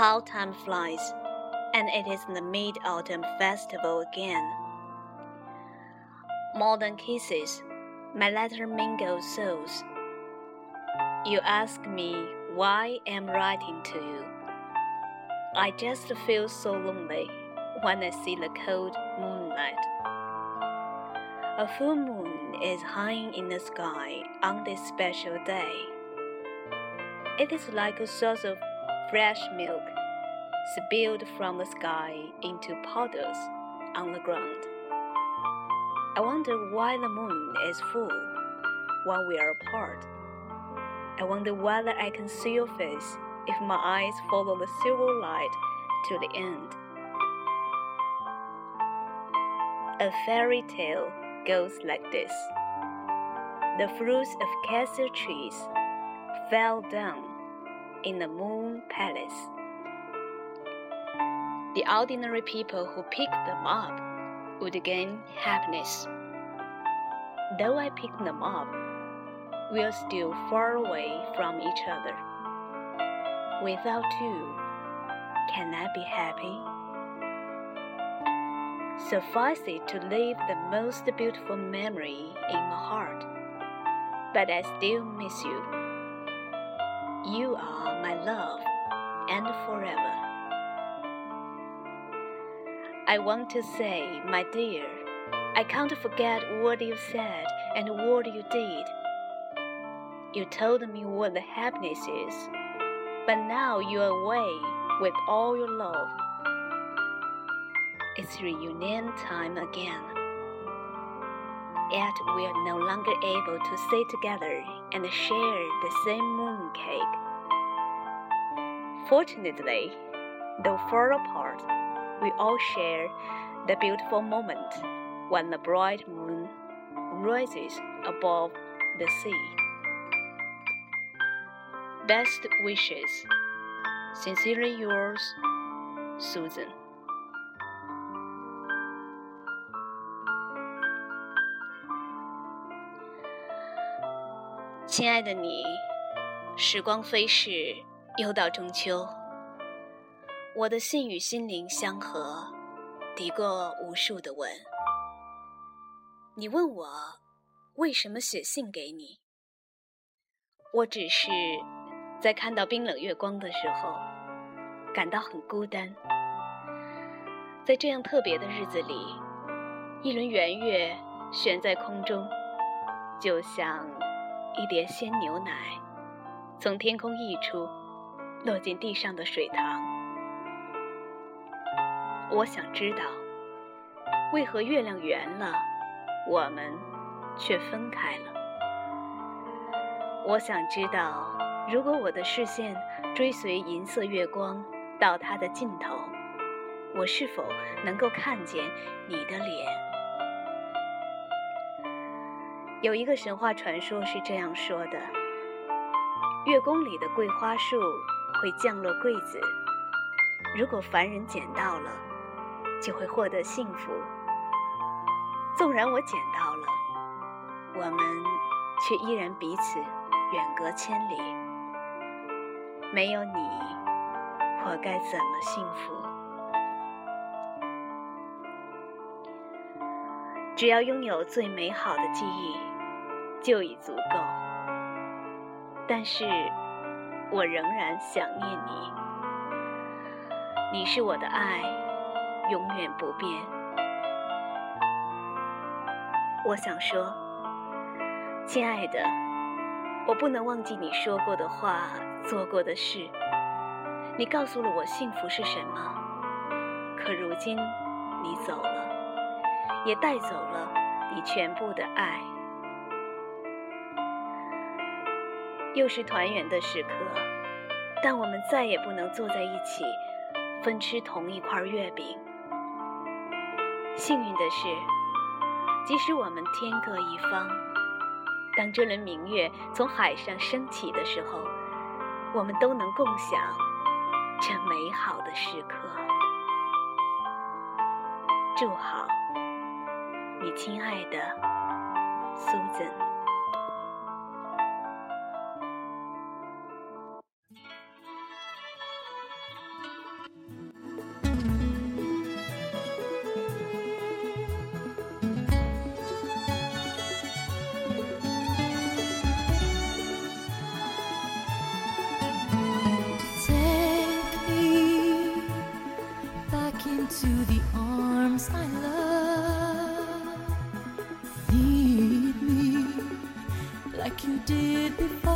How time flies, and it is the Mid-Autumn Festival again. More than kisses, my letter mingles souls. You ask me why I'm writing to you. I just feel so lonely when I see the cold moonlight. A full moon is high in the sky on this special day. It is like a source of fresh milk spilled from the sky into puddles on the ground. I wonder why the moon is full when we are apart. I wonder whether I can see your face if my eyes follow the silver light to the end. A fairy tale goes like this. The fruits of cassia trees fell down in the moon palace. The ordinary people who picked them up would gain happiness. Though I picked them up, we are still far away from each other. Without you, can I be happy? Suffice it to leave the most beautiful memory in my heart, but I still miss you. You are my love, and forever. I want to say, my dear, I can't forget what you said and what you did. You told me what the happiness is, but now you're away with all your love. It's reunion time again. Yet we are no longer able to sit together and share the same mooncake. Fortunately, though far apart, we all share the beautiful moment when the bright moon rises above the sea. Best wishes. Sincerely yours, Susan. 亲爱的你，时光飞逝，又到中秋。我的信与心灵相合，抵过无数的吻。你问我为什么写信给你，我只是在看到冰冷月光的时候，感到很孤单。在这样特别的日子里，一轮圆月悬在空中，就像一碟鲜牛奶从天空溢出，落进地上的水塘。我想知道，为何月亮圆了，我们却分开了。我想知道，如果我的视线追随银色月光到它的尽头，我是否能够看见你的脸？有一个神话传说是这样说的：月宫里的桂花树会降落桂子，如果凡人捡到了，就会获得幸福。纵然我捡到了，我们却依然彼此远隔千里。没有你，我该怎么幸福？只要拥有最美好的记忆，就已足够。但是，我仍然想念你。你是我的爱，永远不变。我想说，亲爱的，我不能忘记你说过的话，做过的事。你告诉了我幸福是什么，可如今你走了，也带走了你全部的爱。又是团圆的时刻，但我们再也不能坐在一起分吃同一块月饼。幸运的是，即使我们天各一方，当这轮明月从海上升起的时候，我们都能共享这美好的时刻。祝好，你亲爱的 Susan。 did before.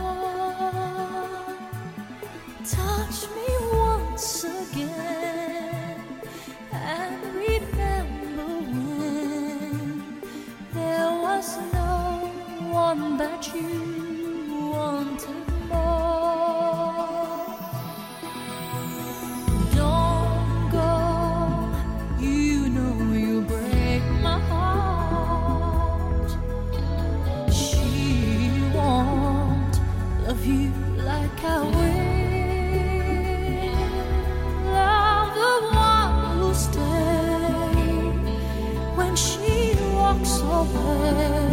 Touch me once again and remember when there was no one that you wanted more. Don't go, you know you break my heart. She won't love you like I will. I'm the one who'll stay when she walks away.